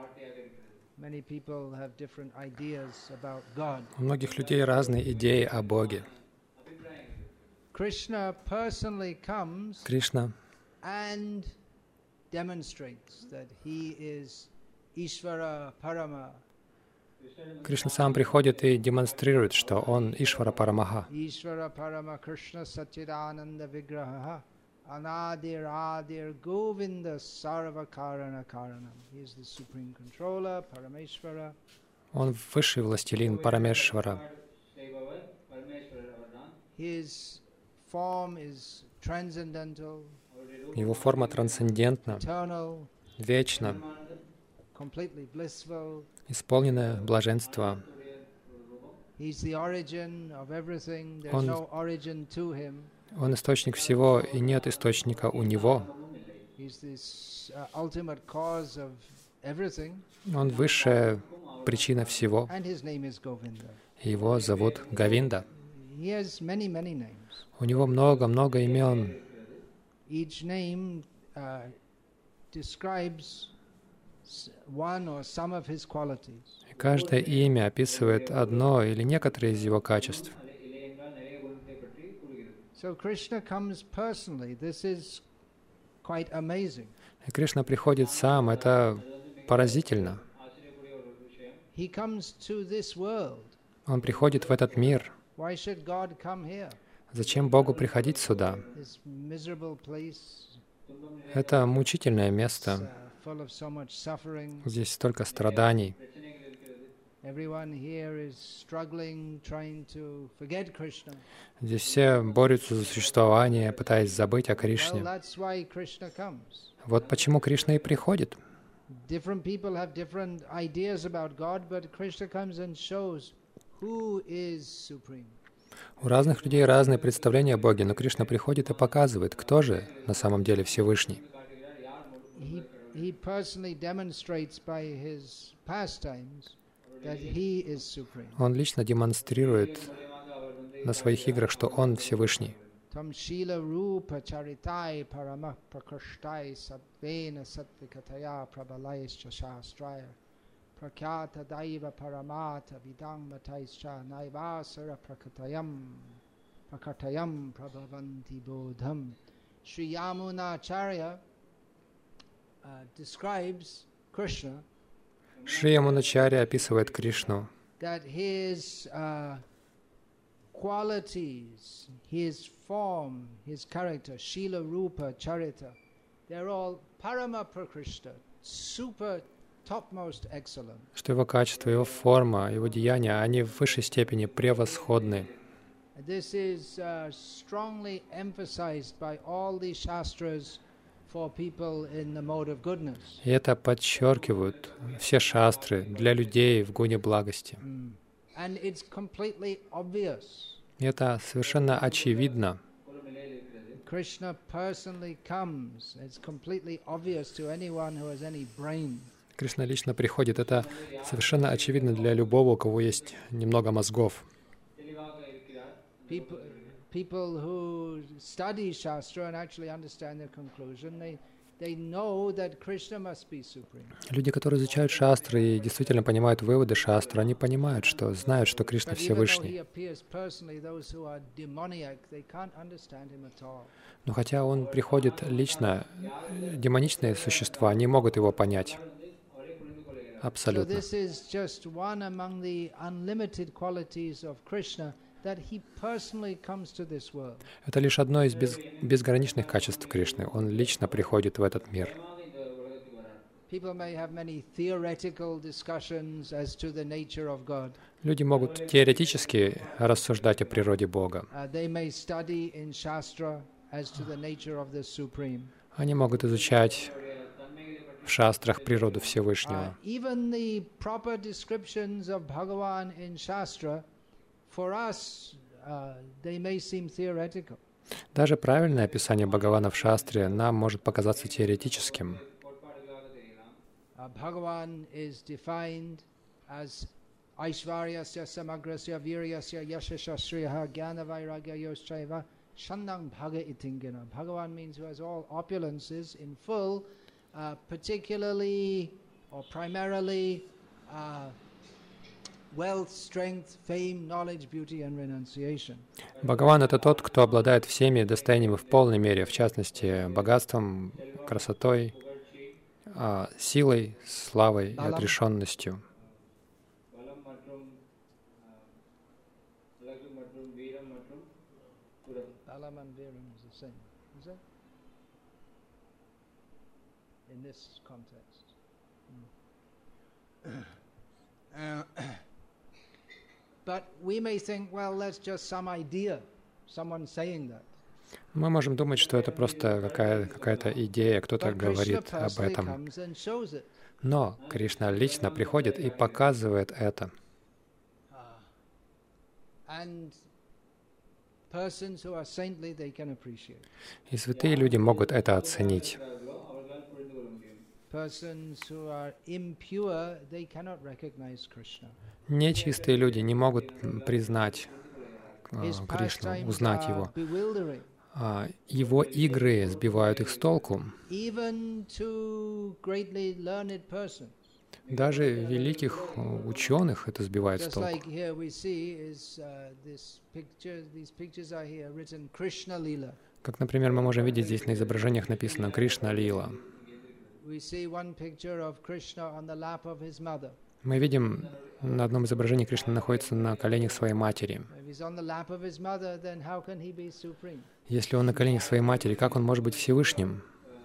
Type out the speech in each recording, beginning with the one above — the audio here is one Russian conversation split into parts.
Many people have different ideas about God. У многих людей разные идеи о Боге. Krishna personally comes Кришна and demonstrates that he is Ishvara Parama. Кришна сам приходит и демонстрирует, что он Ишвара Парамаха. Ishvara Parama Krishna Satchidananda Vigraha Anadir Adir Govinda Sarva Karana Karanam. He is the supreme controller, Parameshvara. Он высший властелин Парамешвара. His form is transcendental, Его форма трансцендентна, eternal, вечна, completely blissful. исполненная блаженства. He's the origin of everything. There's Он- no origin to him. Он источник всего, и нет источника у Него. He's this ultimate cause of everything. Он высшая причина всего. And his name is Govinda. И Его зовут Говинда. He has many, many names. У Него много-много имен. Each name describes one or some of his qualities. И каждое имя описывает одно или некоторые из Его качеств. So Krishna comes personally. This is quite amazing. И Кришна приходит сам. Это поразительно. He comes to this world. Он приходит в этот мир. Why should God come here? Зачем Богу приходить сюда? This miserable place, Это мучительное место. full of so much suffering. Здесь столько страданий. Everyone here is struggling, trying to forget Krishna. Здесь все борются за существование, пытаясь забыть о Well, Кришне. that's why Krishna comes. Вот почему Кришна и приходит. Different people have different ideas about God, but Krishna comes and shows who is supreme. У разных людей разные представления о Боге, но Кришна приходит и показывает, кто же на самом деле Всевышний. He personally demonstrates by his pastimes that he is supreme. Он лично демонстрирует на своих играх, что Он Всевышний. Tam shila rupa charitai paramah prakashtai satvena satvikataya prabalaischa shastraya prakyata daiva paramata vidang mataischa naivasara prakatayam prabhavanti bodham. Sri Yamunacharya describes Krishna Шри Ямуначарья описывает Кришну, that his qualities, his form, his character, Shila Rupa Charita, they're all Parama Prakrishta, super topmost excellent. что Его качество, Его форма, Его деяния, они в высшей степени превосходны. This is strongly emphasized by all the Shastras for people in the mode of goodness. И это подчеркивают все шастры для людей в гуне благости. And it's completely obvious. И это совершенно очевидно. Krishna personally comes. It's completely obvious to anyone who has any brain. Кришна лично приходит. Это совершенно очевидно для любого, у кого есть немного мозгов. People who study Shastra and actually understand their conclusion, they know that Krishna must be supreme. Люди, которые изучают шастры и действительно понимают выводы шастры, они понимают, знают, что Кришна But even though he Всевышний. appears personally, those who are demoniac, they can't understand him at all. Но хотя Он приходит лично, демоничные существа не могут Его понять. So Абсолютно. this is just one among the unlimited qualities of Krishna, that he personally comes to this world. Это лишь одно из безграничных качеств Кришны. Он лично приходит в этот мир. People may have many theoretical discussions as to the nature of God. Люди могут теоретически рассуждать о природе Бога. They may study in Shastra as to the nature of the Supreme. Они могут изучать в шастрах природу Всевышнего. Even the proper descriptions of Bhagavan in Shastra, for us, they may seem theoretical. Даже правильное описание Бхагавана в шастре нам может показаться теоретическим. Bhagavan is defined as Aishvaryasya Samagrasya Viryasya Yashasya Sriha Jnana Vairagya Yoschaiva Shandang Bhaga Itingana. Bhagavan means who has all opulences in full, particularly or primarily wealth, strength, fame, knowledge, beauty and renunciation. Бхагаван — это тот, кто обладает всеми достояниями в полной мере, в частности, богатством, красотой, силой, славой и отрешенностью. Balam and Viram is the same, is it? In this context. But we may think, well, that's just some idea, someone saying that. Мы можем думать, что это просто какая-то идея, кто-то говорит об этом. Но Кришна лично приходит и показывает это. И святые люди могут это оценить. Нечистые люди не могут признать Кришну, узнать его. Его игры сбивают их с толку. Даже великих ученых это сбивает с толку. Как, например, мы можем видеть здесь на изображениях написано «Кришна Лила». Мы видим, на одном изображении Кришна находится на коленях своей матери. Если он на коленях своей матери, как он может быть Всевышним?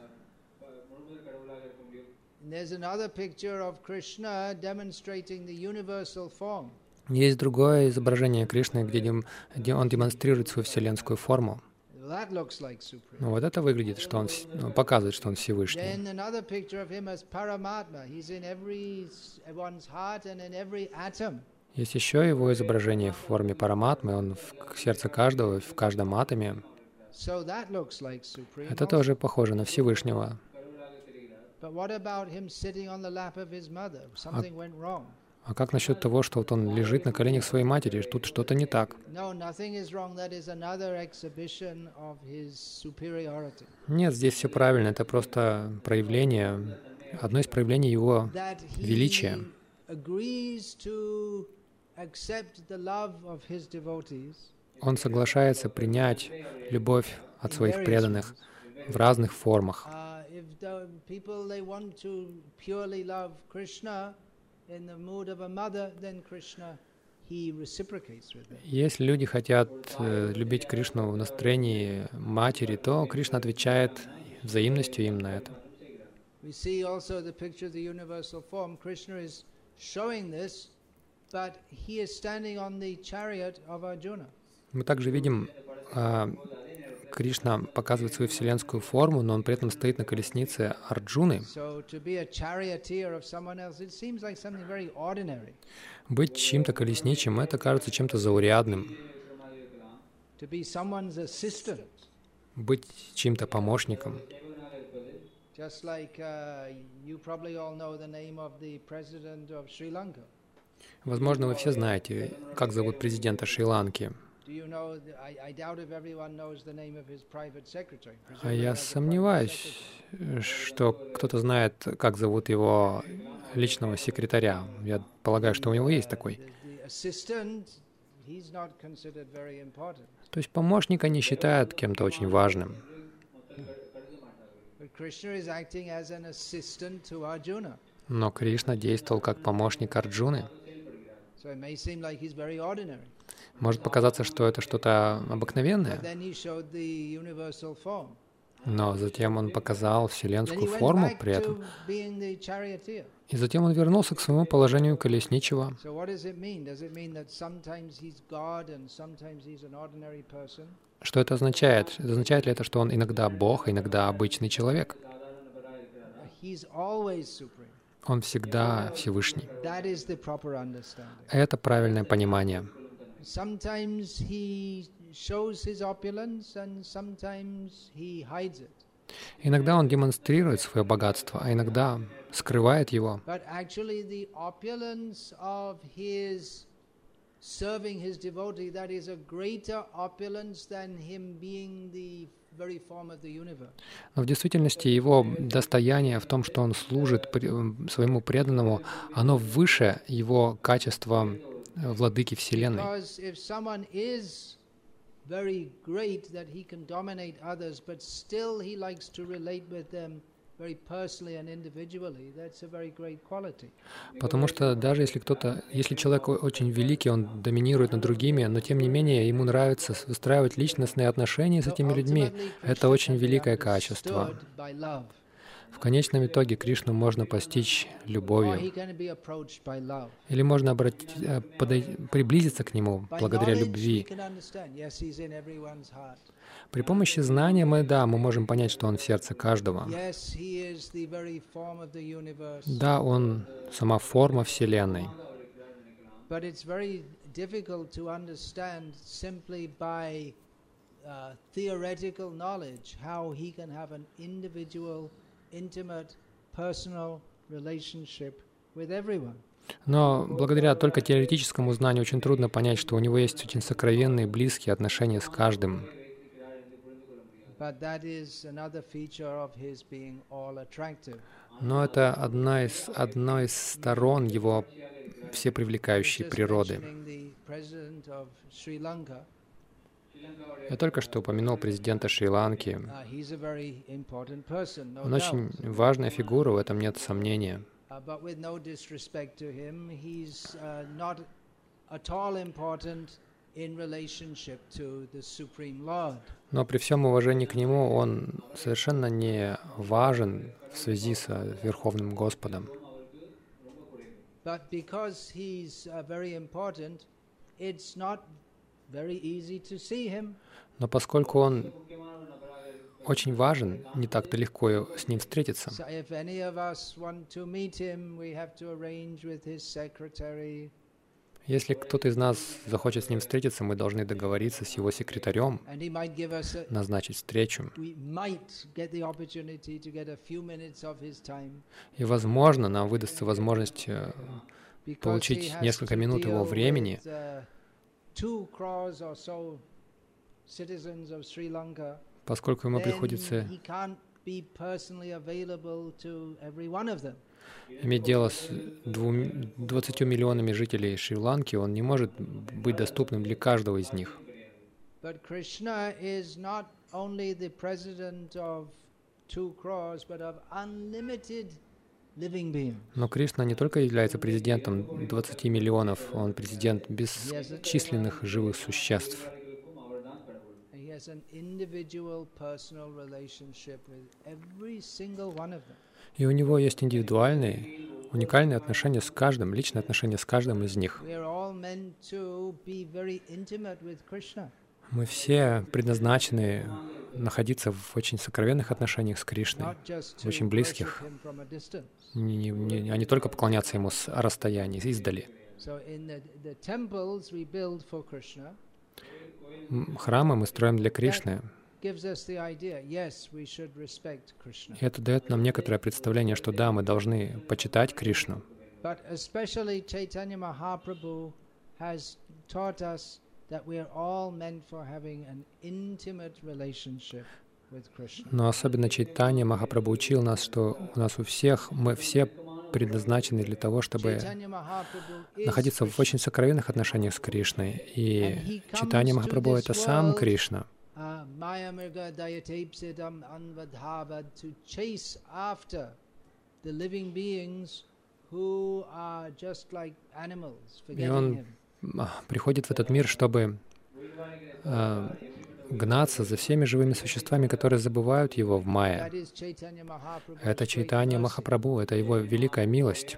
Есть другое изображение Кришны, где он демонстрирует свою вселенскую форму. Ну, вот это выглядит, что он показывает, что он Всевышний. Есть еще его изображение в форме Параматмы, он в сердце каждого, в каждом атоме. Это тоже похоже на Всевышнего. А как насчет того, что вот он лежит на коленях своей матери? Тут что-то не так. Нет, здесь все правильно. Это просто проявление, одно из проявлений его величия. Он соглашается принять любовь от своих преданных в разных формах. Если люди хотят любить Кришну в настроении матери, то Кришна отвечает взаимностью им на это. Мы также видим, Кришна показывает свою вселенскую форму, но он при этом стоит на колеснице Арджуны. Быть чьим-то колесничим — это кажется чем-то заурядным. Быть чьим-то помощником. Возможно, вы все знаете, как зовут президента Шри-Ланки. А я сомневаюсь, что кто-то знает, как зовут его личного секретаря. Я полагаю, что у него есть такой. То есть помощника не считают кем-то очень важным. Но Кришна действовал как помощник Арджуны. Может показаться, что это что-то обыкновенное, но затем он показал вселенскую форму при этом. И затем он вернулся к своему положению колесничего. Что это означает? Означает ли это, что он иногда Бог, иногда обычный человек? Он всегда Всевышний. Это правильное понимание. Иногда он демонстрирует свое богатство, а иногда скрывает его. Но в действительности его достояние в том, что он служит своему преданному, оно выше его качества владыки Вселенной. Потому что даже если человек очень великий, он доминирует над другими, но тем не менее ему нравится выстраивать личностные отношения с этими людьми, это очень великое качество. В конечном итоге Кришну можно постичь любовью. Или можно приблизиться к Нему благодаря любви. При помощи знания мы можем понять, что Он в сердце каждого. Да, Он сама форма Вселенной. Но благодаря только теоретическому знанию очень трудно понять, что у него есть очень сокровенные, близкие отношения с каждым. Но это одна из сторон его всепривлекающей природы. Я только что упомянул президента Шри-Ланки. Он очень важная фигура, в этом нет сомнения. Но при всем уважении к нему, он совершенно не важен в связи с Верховным Господом. Но поскольку он очень важен, не так-то легко с ним встретиться. Если кто-то из нас захочет с ним встретиться, мы должны договориться с его секретарем, назначить встречу. И, возможно, нам выдастся возможность получить несколько минут его времени, поскольку ему приходится иметь дело с 20 миллионами жителей Шри-Ланки, он не может быть доступным для каждого из них. Но Кришна не только является президентом 20 миллионов, он президент бесчисленных живых существ. И у него есть индивидуальные, уникальные отношения с каждым, личные отношения с каждым из них. Мы все предназначены находиться в очень сокровенных отношениях с Кришной, очень близких, а не только поклоняться Ему с расстояния, издали. Храмы мы строим для Кришны. И это дает нам некоторое представление, что да, мы должны почитать Кришну. Но особенно Чайтанья Махапрабху учил нас, что мы все предназначены для того, чтобы находиться в очень сокровенных отношениях с Кришной. И Чайтанья Махапрабху — это сам Кришна. И он приходит в этот мир, чтобы гнаться за всеми живыми существами, которые забывают его в майя. Это Чайтанья Махапрабху, это его великая милость.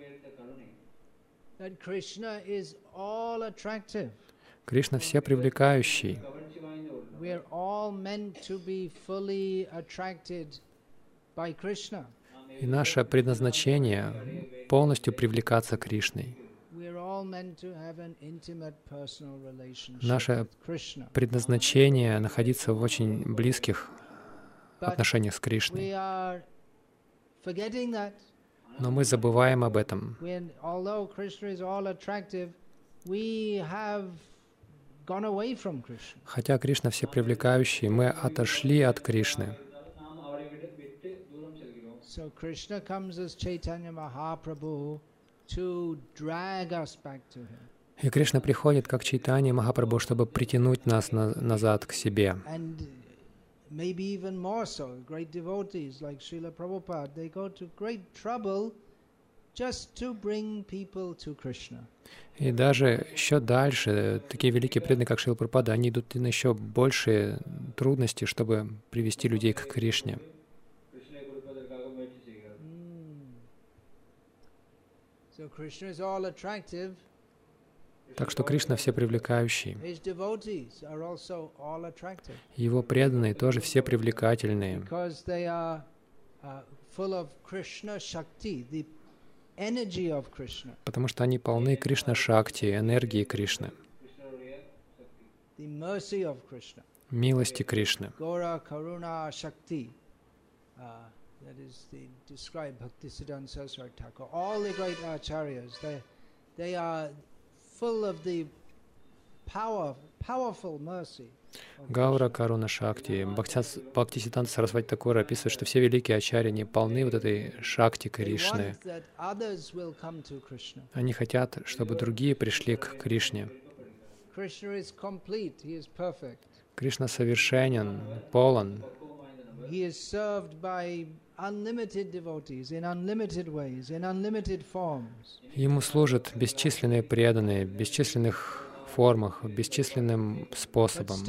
Кришна всепривлекающий. И наше предназначение — полностью привлекаться Кришной. Наше предназначение — находиться в очень близких отношениях с Кришной. Но мы забываем об этом. gone away from Krishna. Хотя Кришна всепривлекающий, мы отошли от Кришны. So Krishna comes as Chaitanya Mahaprabhu to drag us back to him. И Кришна приходит как Чайтанья Махапрабху, чтобы притянуть нас назад к себе. And maybe even more so, great devotees like Srila Prabhupada, they go to great trouble just to bring people to Krishna. И даже еще дальше, такие великие преданные, как Шрила Прабхупада, они идут на еще большие трудности, чтобы привести людей к Кришне. So Krishna is all attractive. Так что Кришна всепривлекающий. His devotees are also all attractive. Его преданные тоже все привлекательные, Because they are full of Krishna Shakti, the energy of Krishna. потому что они полны Кришна-шакти, энергии Кришны, The mercy of Krishna. милости Кришны. Gora Karuna Shakti. That is described Bhaktisiddhanta Saraswati Thakur. All the great acharyas, they are full of the powerful mercy. Гаура Каруна Шакти. Бхактисиддханта Сарасвати Такур описывает, что все великие ачарьи, они полны вот этой шакти Кришны. Они хотят, чтобы другие пришли к Кришне. Кришна совершенен, полон. Ему служат бесчисленные преданные, в бесчисленных формах, бесчисленным способом.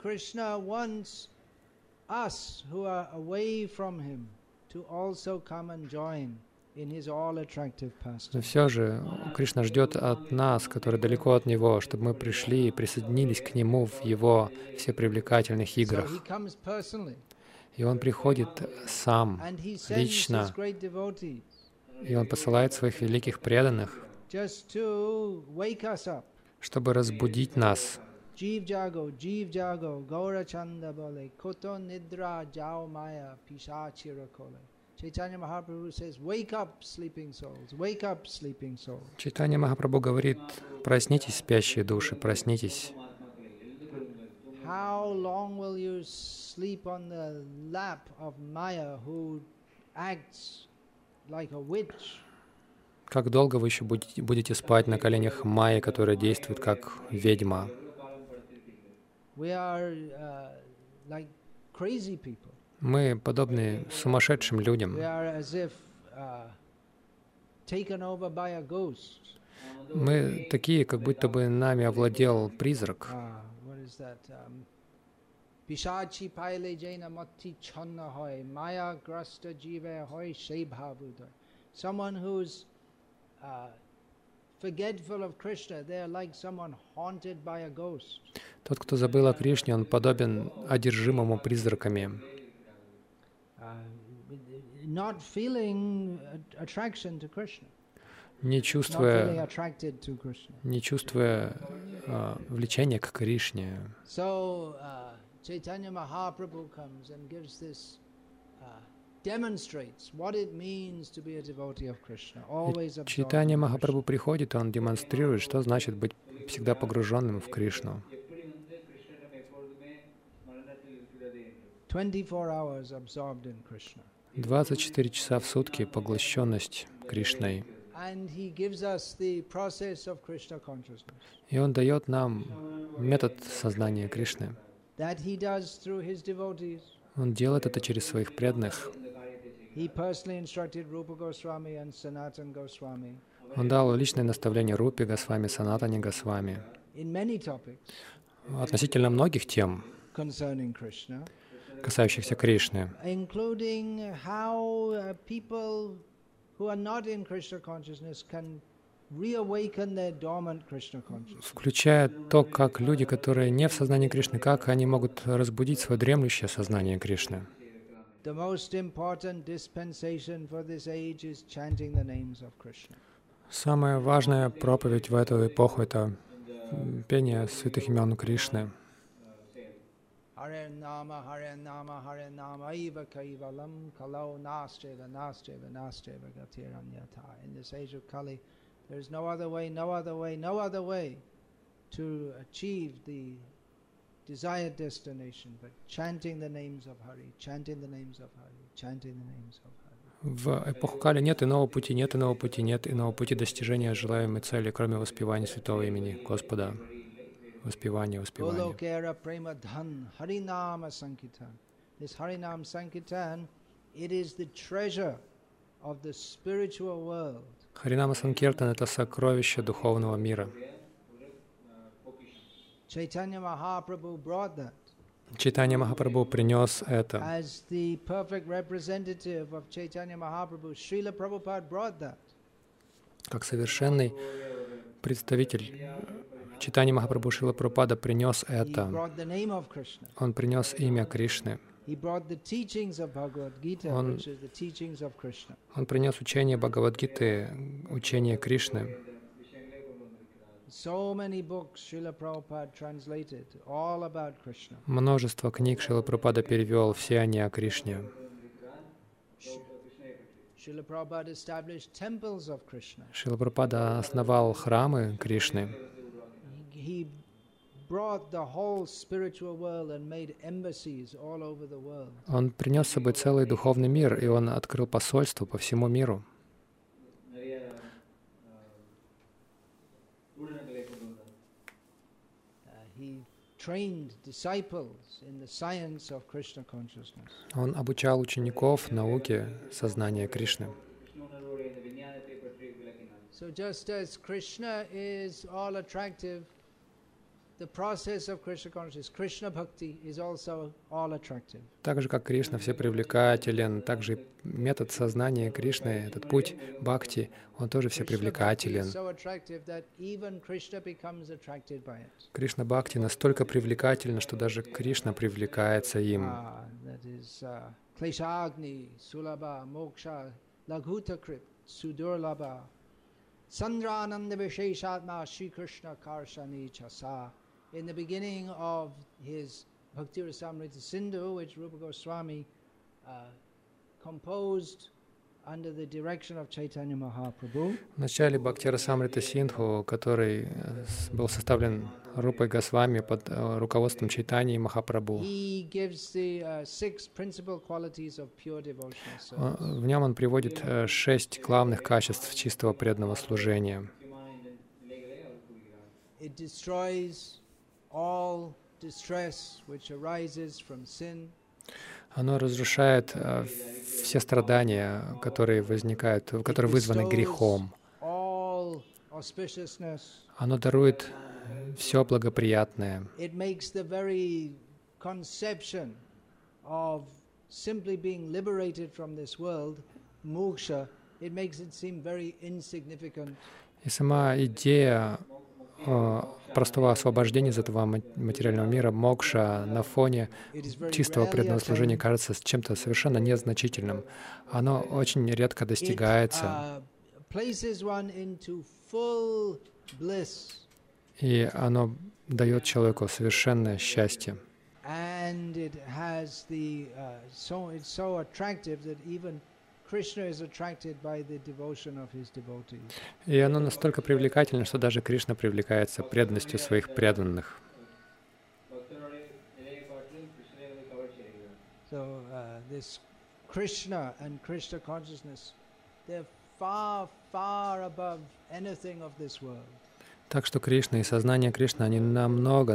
Но все же Кришна ждет от нас, которые далеко от Него, чтобы мы пришли и присоединились к Нему в Его всепривлекательных играх. И Он приходит сам, лично, и Он посылает своих великих преданных, чтобы разбудить нас. Jeev jago, gaura chanda bole, koto nidra jao maya, pishachira kole. Chaitanya Mahaprabhu says, wake up, sleeping souls, wake up, sleeping souls. Чайтанья Махапрабху говорит: проснитесь, спящие души, проснитесь. How long will you sleep on the lap of Maya, who acts like a witch? Как долго вы еще будете спать на коленях Майи, которая действует как ведьма? We are like crazy people. Мы подобны сумасшедшим людям. We are as if taken over by a ghost. Мы такие, как будто бы нами овладел призрак. What is that? Pishachi paile jaina matti channa hoy, maya grasta jive hoy shebhavudoy. Someone who's forgetful of Krishna, they are like someone haunted by a ghost. Тот, кто забыл о Кришне, он подобен одержимому призраками. Not feeling attraction to Krishna. Не чувствуя влечения к Кришне. So Chaitanya Mahaprabhu comes and gives this demonstrates what it means to be a devotee of Krishna. Always absorbed. Чайтанья Махапрабху приходит, он демонстрирует, что значит быть всегда погруженным в Кришну. 24 hours absorbed in Krishna. 24 часа в сутки поглощенность Кришной. And he gives us the process of Krishna consciousness. И он дает нам метод сознания Кришны. That he does through his devotees. Он делает это через своих преданных. He personally instructed Rupa Goswami and Sanatana Goswami. Он дал личное наставление Рупе Госвами, Санатане Госвами In many topics относительно многих тем, concerning Krishna, касающихся Кришны, including how people who are not in Krishna consciousness can reawaken their dormant Krishna consciousness. включая то, как люди, которые не в сознании Кришны, как они могут разбудить свое дремлющее сознание Кришны. The most important dispensation for this age is chanting the names of Krishna. Самая важная проповедь в эту эпоху — это пение святых имен Кришны. Hare Nama, Hare Nama, Hare Nama, Eva Kaivalam, Kalau Nastreva, Nastreva, Nastreva, Gatiranyata. In this age of Kali, there is no other way, no other way, no other way to achieve the desired destination, but chanting the names of Hari, chanting the names of Hari, chanting the names of Hari. В эпоху Кали нет иного пути, нет иного пути, нет иного пути достижения желаемой цели, кроме воспевания святого имени Господа. Воспевание, воспевание. Golokera prema dhan, Harinama Sankirtan. This Harinam Sankirtan, it is the treasure of the spiritual world. Харинама Санкиртан — это сокровище духовного мира. Chaitanya Mahaprabhu brought that. Чайтанья Махапрабху принес это. As the perfect representative of Chaitanya Mahaprabhu, Srila Prabhupada brought that. Как совершенный представитель Чайтаньи Махапрабху Шрила Прабхупада принес He это. brought the name of Krishna. Он принес имя Кришны. He brought the teachings of Bhagavad Gita, Он- which is the teachings of Krishna. Он принес учение Бхагавад-гиты, учение Кришны. So many books Srila Prabhupada translated, all about Krishna. Множество книг Шрила Прабхупада перевел, все они о Кришне. Srila Prabhupada established temples of Krishna. Шрила Прабхупада основал храмы Кришны. He brought the whole spiritual world and made embassies all over the world. Он принес с собой целый духовный мир, и он открыл посольство по всему миру. He trained disciples in the science of Krishna consciousness. Он обучал учеников науке сознания Кришны. So just as Krishna is all attractive, the process of Krishna consciousness, Krishna bhakti, is also all attractive. Так же, как Кришна все привлекателен, также и метод сознания Кришны, этот путь бхакти, он тоже все Krishna bhakti is привлекателен. so attractive that even Krishna becomes attracted by it. Кришна бхакти настолько привлекательна, что даже Кришна привлекается им. That is Kleshagni, Sulabha, Moksha, Laghuta-krip, Sudurlabha, Sandrananda Visheshatma, Sri Krishna Karshani Chasa. In the beginning of his Bhakti Rasamrita Sindhu, which Rupa Goswami composed under the direction of Chaitanya Mahaprabhu, В начале Бхакти Расамрита Синдху, который был составлен Рупой Госвами под руководством Чайтаньи Махапрабху, he gives the 6 principal qualities of pure devotional service. в нем он приводит 6 главных качеств чистого преданного служения. It destroys all distress which arises from sin. Оно разрушает все страдания, которые возникают, которые вызваны грехом. All auspiciousness. Оно дарует все благоприятное. It makes the very conception of simply being liberated from this world, moksha, it makes it seem very insignificant. И сама идея простого освобождения из этого материального мира, мокша, на фоне чистого преданного служения кажется чем-то совершенно незначительным. Оно очень редко достигается, Places one into full bliss. и оно дает человеку совершенное счастье. And it has it's so attractive that even Krishna is attracted by the devotion of his devotees. И оно настолько привлекательно, что даже Кришна привлекается преданностью своих преданных. So this Krishna and Krishna consciousness, they're far, far above anything of this world. Так что Кришна и сознание Кришны, они намного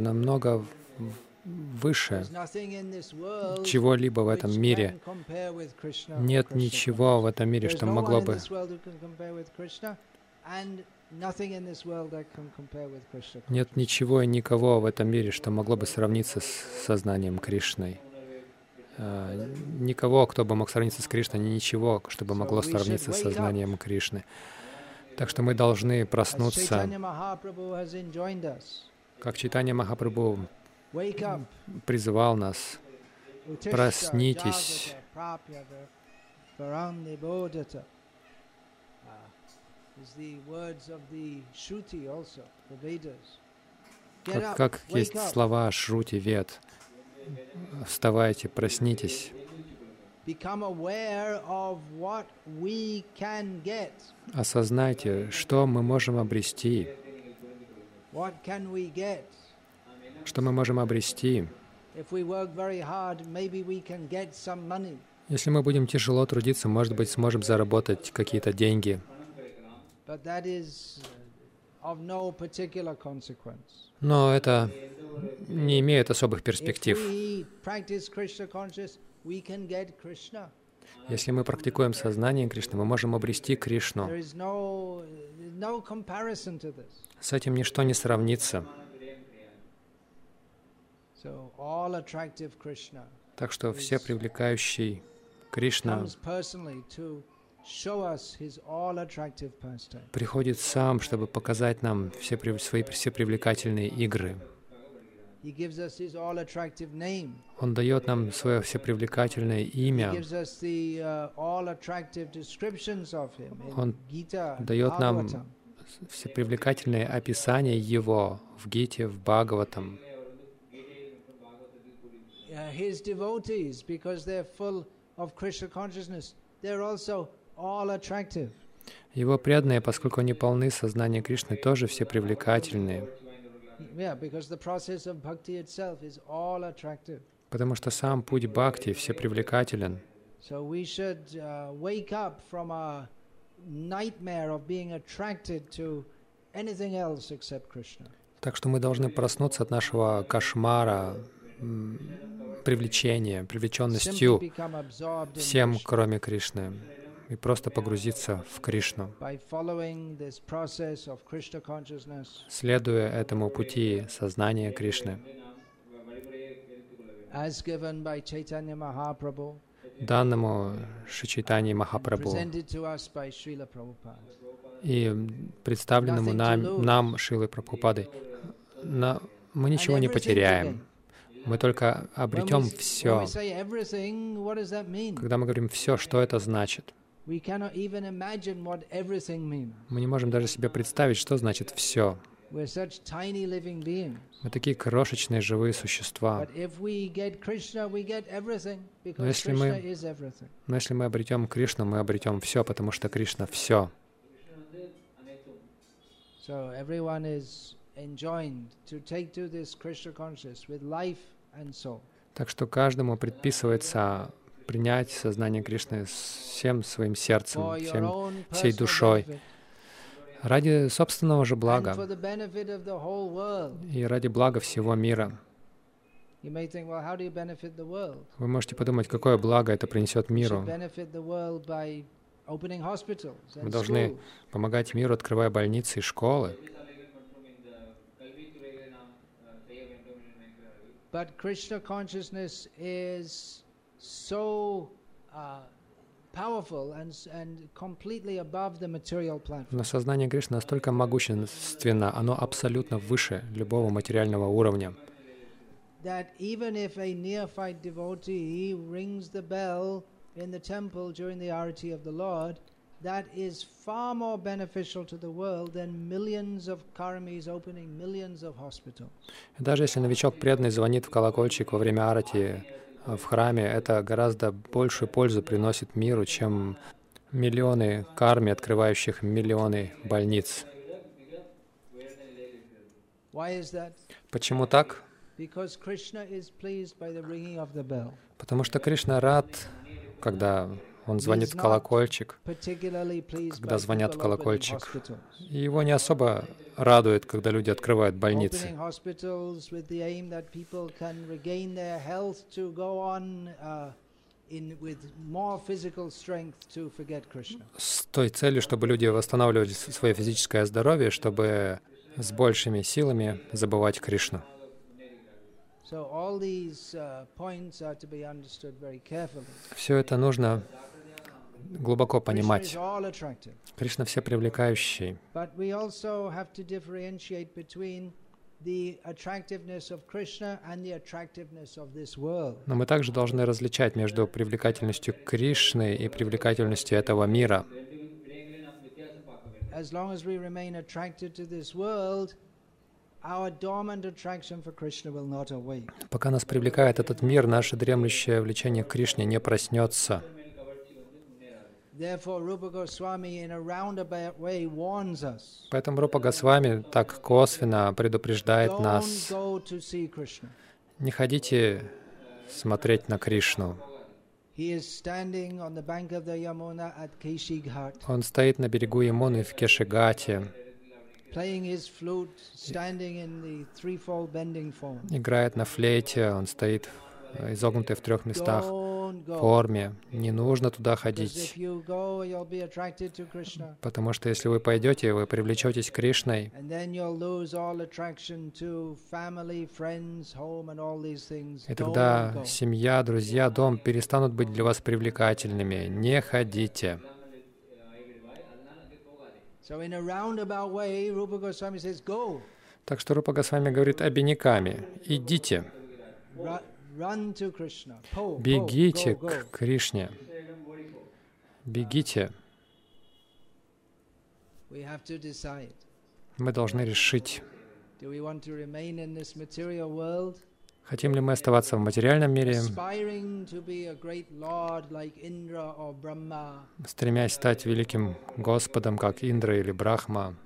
выше чего-либо в этом мире. Нет ничего в этом мире, что могло бы... Нет ничего и никого в этом мире, что могло бы сравниться с сознанием Кришной. Никого, кто бы мог сравниться с Кришной, ничего, что бы могло сравниться с сознанием Кришны. Так что мы должны проснуться, как Чайтанья Махапрабху призывал нас: проснитесь. Как есть слова Шрути Вед. Вставайте, проснитесь. Осознайте, что мы можем обрести. What can we get? Что мы можем обрести? If we work very hard, maybe we can get some money. Если мы будем тяжело трудиться, может быть, сможем заработать какие-то деньги. But that is of no particular consequence. Но это не имеет особых перспектив. If we practice Krishna consciousness, we can get Krishna. Если мы практикуем сознание Кришны, мы можем обрести Кришну. There is no comparison to this. С этим ничто не сравнится. So all attractive Krishna Так что все привлекающий Кришна comes personally to show us his all attractive pastime. приходит сам, чтобы показать нам свои все привлекательные игры. He gives us his all attractive name. Он дает нам свое всепривлекательное He имя. gives us the all attractive descriptions of him in Он Gita and дает нам Bhagavatam. всепривлекательное описание Его в Гите, в Бхагаватам. His devotees, because they're full of Krishna consciousness, they're also all attractive. Его преданные, поскольку они полны сознания Кришны, тоже все привлекательные, Yeah, because the process of bhakti itself is all attractive. потому что сам путь бхакти все привлекателен. So we should wake up from a nightmare of being attracted to anything else except Krishna. Так что мы должны проснуться от нашего кошмара, привлеченностью Simply become absorbed in всем, Krishna кроме Кришны, и просто погрузиться в Кришну, by following this process of Krishna consciousness. следуя этому пути сознания Кришны, As given by Chaitanya Mahaprabhu, данному Шри Махапрабху presented to us by Srila Prabhupada. и представленному нам Шрилой Прабхупадой. Мы ничего не потеряем. Мы только обретем When все. we say everything, what does that mean? Когда мы говорим «все», что это значит? We cannot even imagine what everything means. Мы не можем даже себе представить, что значит «все». We're such tiny living beings. Мы такие крошечные живые существа. But if we get Krishna, we get everything, because если Krishna мы- is everything. Но если мы обретем Кришну, мы обретем все, потому что Кришна — все. So everyone is enjoined to take to this Krishna consciousness with life and soul. Так что каждому предписывается принять сознание Кришны всем своим сердцем, For your всем, own всей personal душой, benefit ради собственного же and for блага the benefit of the whole world. и ради блага всего мира. You may think, well, how do you benefit the world? Вы можете подумать, какое благо это принесет You should миру. benefit the world by opening hospitals Мы and должны schools. помогать миру, открывая больницы и школы. But Krishna consciousness is so powerful and completely above the material platform. Но сознание Кришны настолько могущественно, оно абсолютно выше любого материального уровня, That even if a neophyte devotee rings the bell in the temple during the arati of the Lord, that is far more beneficial to the world than millions of karmis opening millions of hospitals. И даже если новичок преданный звонит в колокольчик во время арати в храме, это гораздо большую пользу приносит миру, чем миллионы карми, открывающих миллионы больниц. Why is that? Почему так? Because Krishna is pleased by the ringing of the bell. Потому что Кришна рад, когда он звонит в колокольчик, Particularly pleased когда by звонят в people opening колокольчик. hospitals. И его не особо радует, когда люди открывают больницы. Opening hospitals with the aim that people can regain their health to go on with more physical strength to forget Krishna. С той целью, чтобы люди восстанавливали свое физическое здоровье, чтобы с большими силами забывать Кришну. So all these points are to be understood very carefully. Все это нужно глубоко Krishna is понимать. all attractive, Кришна все привлекающий. but we also have to differentiate between the attractiveness of Krishna and the attractiveness of this world. Но мы также должны различать между привлекательностью Кришны и привлекательностью этого мира. As long as we remain attracted to this world, our dormant attraction for Krishna will not awake. Пока нас привлекает этот мир, наше дремлющее влечение к Кришне не проснется. Поэтому Рупа Госвами так косвенно предупреждает нас: не ходите смотреть на Кришну. Он стоит на берегу Ямуны в Кешигате, играет на флейте, он стоит изогнутый в 3 местах форме. Не нужно туда ходить, потому что если вы пойдете, вы привлечетесь Кришной, и тогда семья, друзья, дом перестанут быть для вас привлекательными. Не ходите. Так что Рупа Госвами говорит обиняками: идите. Бегите к Кришне. Бегите. Мы должны решить, хотим ли мы оставаться в материальном мире, стремясь стать великим Господом, как Индра или Брахма,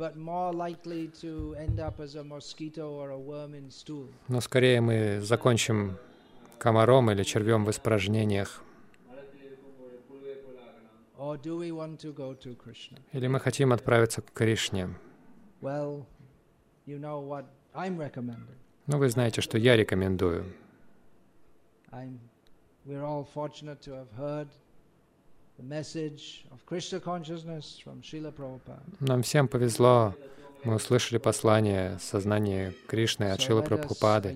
но скорее мы закончим комаром или червем в испражнениях. Или мы хотим отправиться к Кришне? Ну, вы знаете, что я рекомендую. Нам всем повезло. Мы услышали послание сознания Кришны от Шрилы Прабхупады.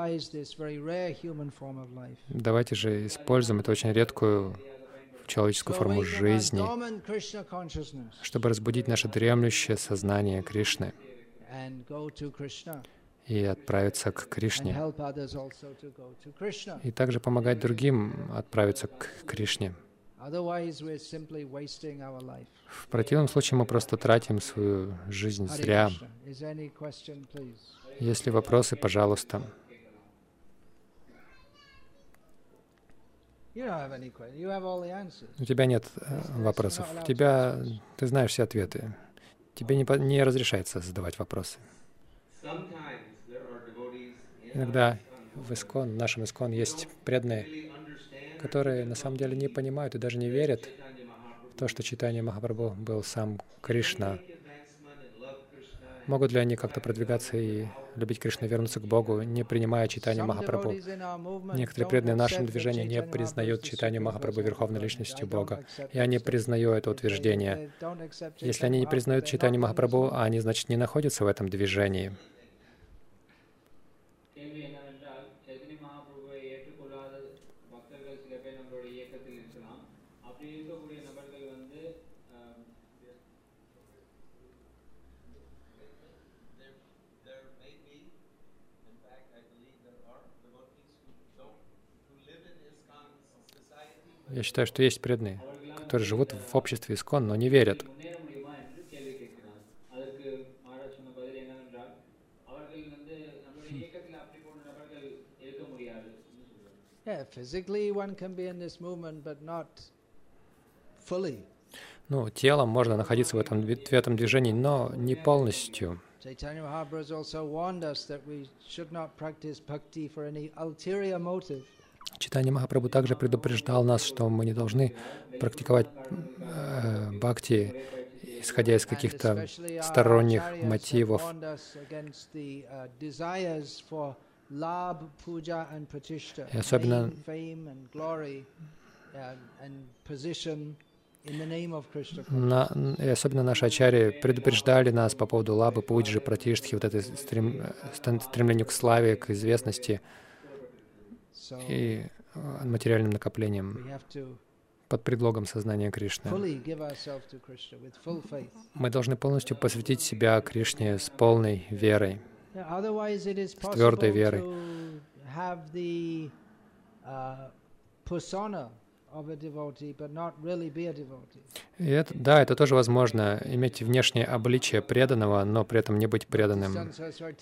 Давайте же используем эту очень редкую человеческую форму жизни, чтобы разбудить наше дремлющее сознание Кришны и отправиться к Кришне, и также помогать другим отправиться к Кришне. В противном случае мы просто тратим свою жизнь зря. Есть ли вопросы, пожалуйста. У тебя нет вопросов. Ты знаешь все ответы. Тебе не разрешается задавать вопросы. Иногда в нашем ИСККОН есть преданные, которые на самом деле не понимают и даже не верят в то, что Чайтанья Махапрабху был сам Кришна. Могут ли они как-то продвигаться и любить Кришну, вернуться к Богу, не принимая Чайтанью Махапрабху? Некоторые преданные в нашем движении не признают Чайтанью Махапрабху верховной личностью Бога. Я не признаю это утверждение. Если они не признают Чайтанью Махапрабху, они, значит, не находятся в этом движении. Я считаю, что есть преданные, которые живут в обществе ИСККОН, но не верят. Ну, телом можно находиться в этом движении, но не полностью. Chaitanya Mahaprabhu also warned us that we should not practice bhakti for any ulterior motive. Чайтанья Махапрабху также предупреждал нас, что мы не должны практиковать бхакти, исходя из каких-то сторонних мотивов. И особенно наши ачарьи предупреждали нас по поводу лабы, пуджи, пратиштхи, вот этой стремлению к славе, к известности и материальным накоплением под предлогом сознания Кришны. Мы должны полностью посвятить себя Кришне с полной верой, с твердой верой. И это тоже возможно, иметь внешнее обличие преданного, но при этом не быть преданным.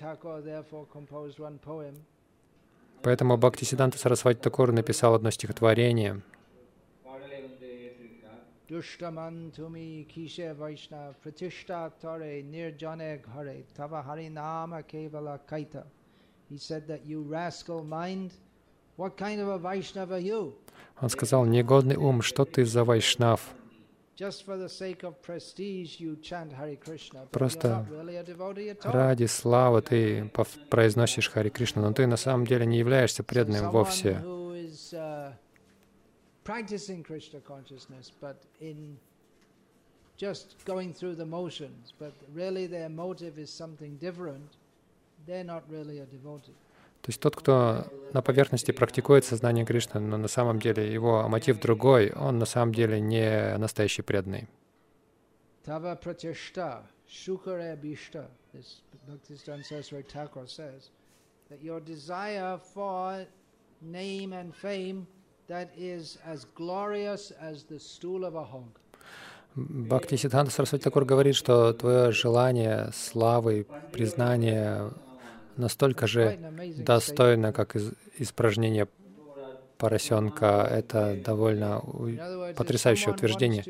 Поэтому Бхактисиддханта Сарасвати Такур написал одно стихотворение. Dushtaman tumi kishe Vaishnav pratishta tare nirjane ghare tava harinama kevala kaita. He said that you rascal mind, what kind of a Vaishnava are you? Он сказал: негодный ум, что ты за вайшнав? Just for the sake of prestige you chant Hare Krishna, but you're Просто not really a devotee at all. ради славы ты произносишь Хари Кришну, но ты на самом деле не являешься So преданным someone вовсе. who is practicing Krishna consciousness, but in just going through the motions, but really their motive is something different, they're not really a devotee. То есть тот, кто на поверхности практикует сознание Кришны, но на самом деле его мотив другой, он на самом деле не настоящий преданный. Tava pratyashta shukare bhishta. This Bhaktisiddhanta Saraswati Thakur says that your desire for name and fame, that is as glorious as the stool of a hog. Бхактисиддханта Сарасвати Такур говорит, что твое желание славы, признания настолько же достойно, как испражнение поросенка. Это довольно потрясающее утверждение.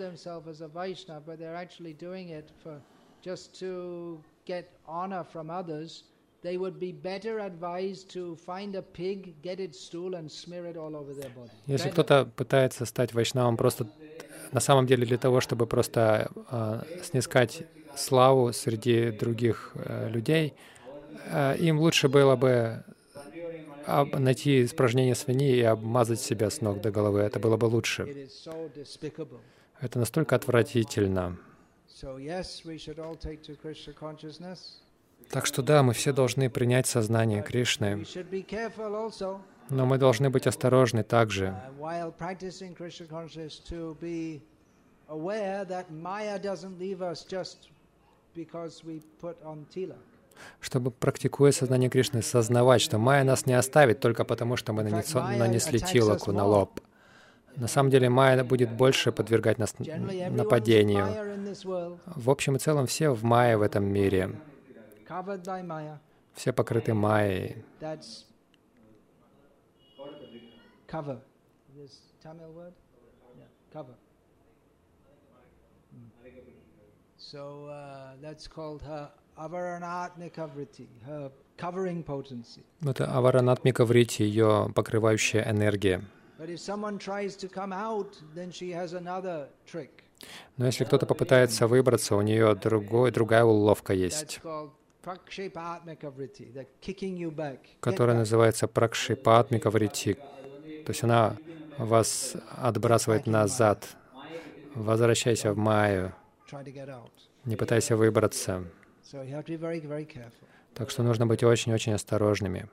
Если кто-то пытается стать вайшнавом просто на самом деле для того, чтобы просто снискать славу среди других людей, им лучше было бы найти испражнение свиньи и обмазать себя с ног до головы. Это было бы лучше. Это настолько отвратительно. Так что да, мы все должны принять сознание Кришны, но мы должны быть осторожны также. Чтобы, практикуя сознание Кришны, сознавать, что майя нас не оставит только потому, что мы нанесли тилаку на лоб. На самом деле майя будет больше подвергать нас нападению. В общем и целом все в майе в этом мире. Все покрыты майей. Это аваранатмика врити, ее покрывающая энергия. Но если кто-то попытается выбраться, у нее другая уловка есть, которая называется пракшипатмика врити. То есть она вас отбрасывает назад. Возвращайся в майю. Не пытайся выбраться. Так что нужно быть очень-очень осторожными.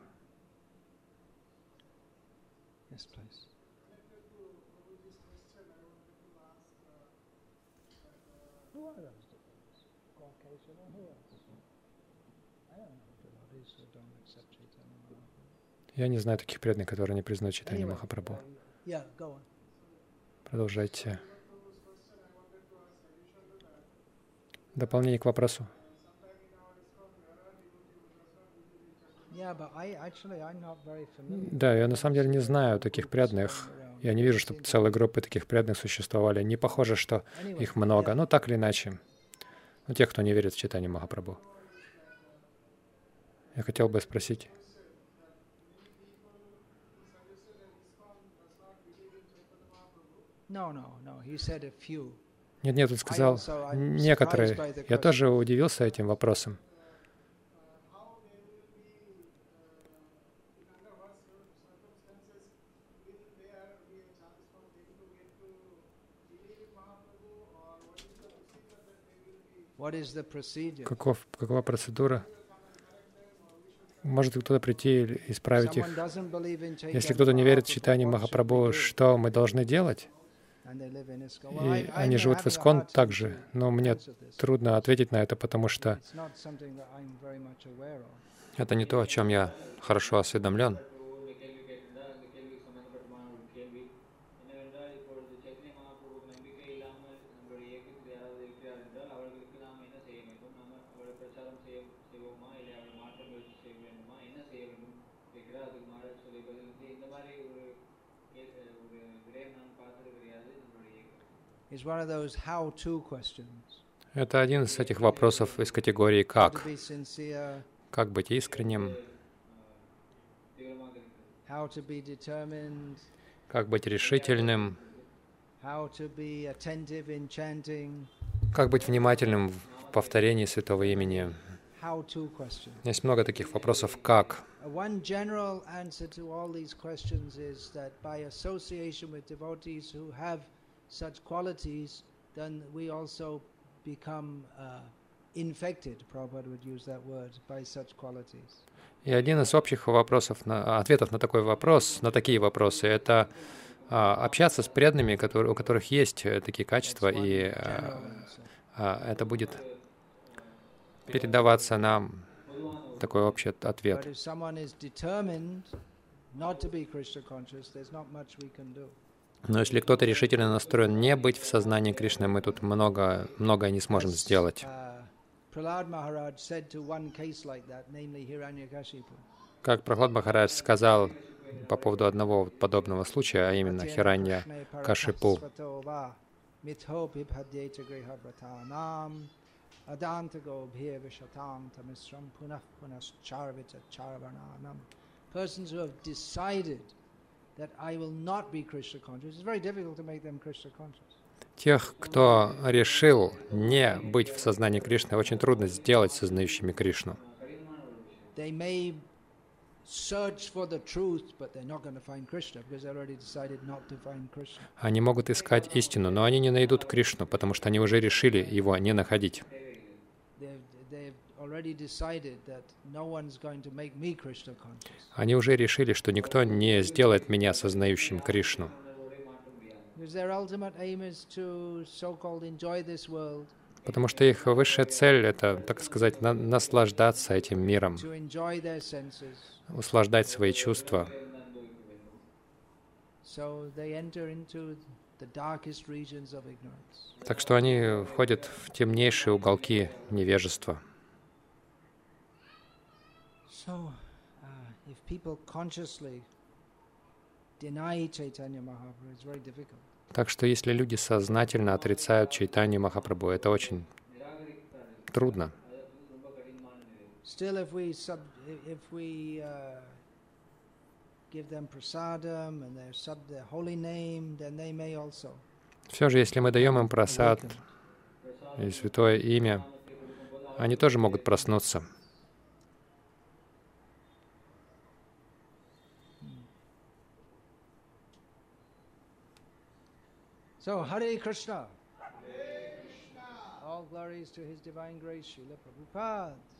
Я не знаю таких преданных, которые не признают Чайтанью Махапрабху. Продолжайте. Дополнение к вопросу. Да, я на самом деле не знаю таких преданных. Я не вижу, чтобы целые группы таких преданных существовали. Не похоже, что их много. Но так или иначе. Ну, тех, кто не верит в Чайтанью Махапрабху. Я хотел бы спросить. Нет, он сказал некоторые. Я тоже удивился этим вопросом. Какова процедура? Может кто-то прийти и исправить их? Если кто-то не верит в Чайтанью Махапрабху, что мы должны делать? И они живут в Искон также, но мне трудно ответить на это, потому что это не то, о чем я хорошо осведомлен. is one of those how-to questions. Это один из этих вопросов из категории How to «как». be sincere, Как быть искренним, how to be determined, как быть решительным, how to be attentive in chanting. как быть внимательным в повторении святого имени. How-to questions. Есть много таких вопросов «как». One general answer to all these questions is that by association with devotees who have such qualities, then we also become infected, Prabhupada would use that word, by such qualities. И один из общих вопросов, ответов на такой вопрос, на такие вопросы, это общаться с преданными, у которых есть такие качества, и это будет передаваться нам, такой общий ответ. Но если кто-то решительно настроен не быть в сознании Кришны, мы тут многое не сможем сделать. Как Прахлад Махарадж сказал по поводу одного подобного случая, а именно Хиранья Кашипу. Persons who have decided that I will not be Krishna conscious, it's very difficult to make them Krishna conscious. Тех, кто решил не быть в сознании Кришны, очень трудно сделать сознающими Кришну. They may search for the truth, but they're not going to find Krishna because they already decided not to find Krishna. Они могут искать истину, но они не найдут Кришну, потому что они уже решили его не находить. Они уже решили, что никто не сделает меня сознающим Кришну. Потому что их высшая цель — это, так сказать, наслаждаться этим миром, услаждать свои чувства. Так что они входят в темнейшие уголки невежества. Так что если люди сознательно отрицают Чайтанью Махапрабху, это очень трудно. Все же, если мы даем им прасад и святое имя, они тоже могут проснуться. So, Hare Krishna. All glories to His Divine Grace, Srila Prabhupada.